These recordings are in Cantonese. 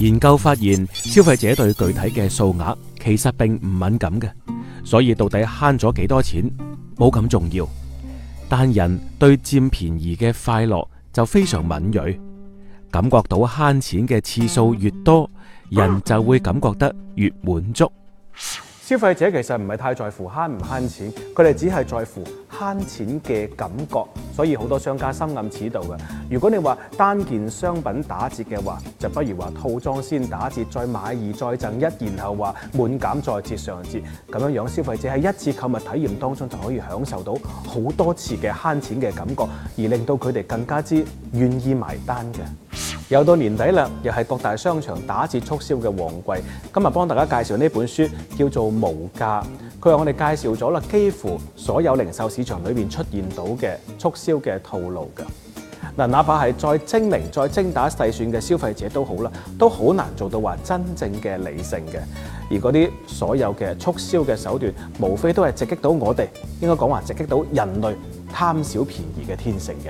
研究發現，消費者對具體嘅數額其實並唔敏感嘅，所以到底慳咗幾多錢冇咁重要。但人對佔便宜嘅快樂就非常敏銳，感覺到慳錢嘅次數越多，人就會感覺得越滿足。 消費者其實唔係太在乎慳唔慳錢，佢哋只係在乎慳錢嘅感覺，所以好多商家深諳此道嘅。如果你話單件商品打折嘅話，就不如話套裝先打折，再買二再贈一，然後話滿減再折上折，咁樣樣消費者喺一次購物體驗當中就可以享受到好多次嘅慳錢嘅感覺，而令到佢哋更加之願意埋單嘅。又到年底啦，又係各大商場打折促銷嘅旺季。今日幫大家介紹呢本書，叫做《無價》。佢話我哋介紹咗啦，幾乎所有零售市場裏面出現到嘅促銷嘅套路㗎。嗱，哪怕係再精明、再精打細算嘅消費者都好啦，都好難做到話真正嘅理性嘅。而嗰啲所有嘅促銷嘅手段，無非都係直擊到我哋，應該講話直擊到人類貪小便宜嘅天性嘅。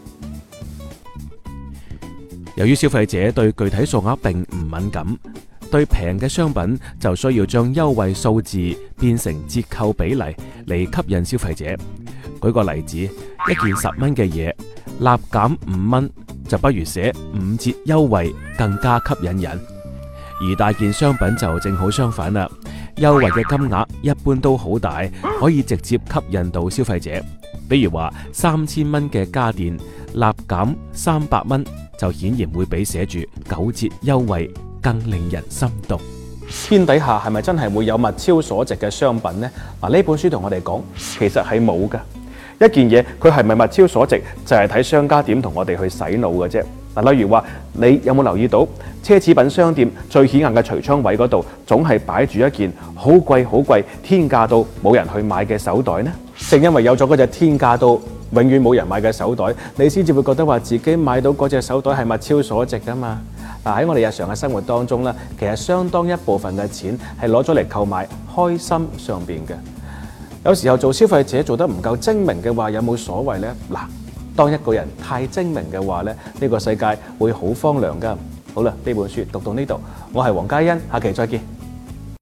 由於消費者對具體數額並唔敏感，對平嘅商品就需要將優惠數字變成折扣比例嚟吸引消費者。舉個例子，一件10蚊嘅嘢，立減5蚊，就不如寫5折優惠更加吸引人。而大件商品就正好相反啦，優惠嘅金額一般都好大，可以直接吸引到消費者。比如話3000蚊嘅家電，立減300蚊。就顯然會比寫住9折優惠更令人心動。 天底下係咪真係會有物超所值嘅商品呢？嗱，呢本書同我哋講，其實係冇㗎。一件嘢佢係咪物超所值，就係睇商家點同我哋去洗腦嘅啫。嗱，例如話，你有冇留意到奢侈品商店最顯眼嘅櫥窗位嗰度，總係擺住一件好貴好貴、天價到冇人去買嘅手袋呢？正因為有咗嗰隻天價到永遠冇人買嘅手袋，你先至會覺得話自己買到嗰隻手袋係物超所值㗎嘛。嗱，喺我哋日常嘅生活當中咧，其實相當一部分嘅錢係攞咗嚟購買開心上邊嘅。有時候做消費者做得唔夠精明嘅話，有冇所謂呢？嗱，當一個人太精明嘅話咧，呢個世界會好荒涼㗎。好啦，呢本書讀到呢度，我係黃嘉欣，下期再見。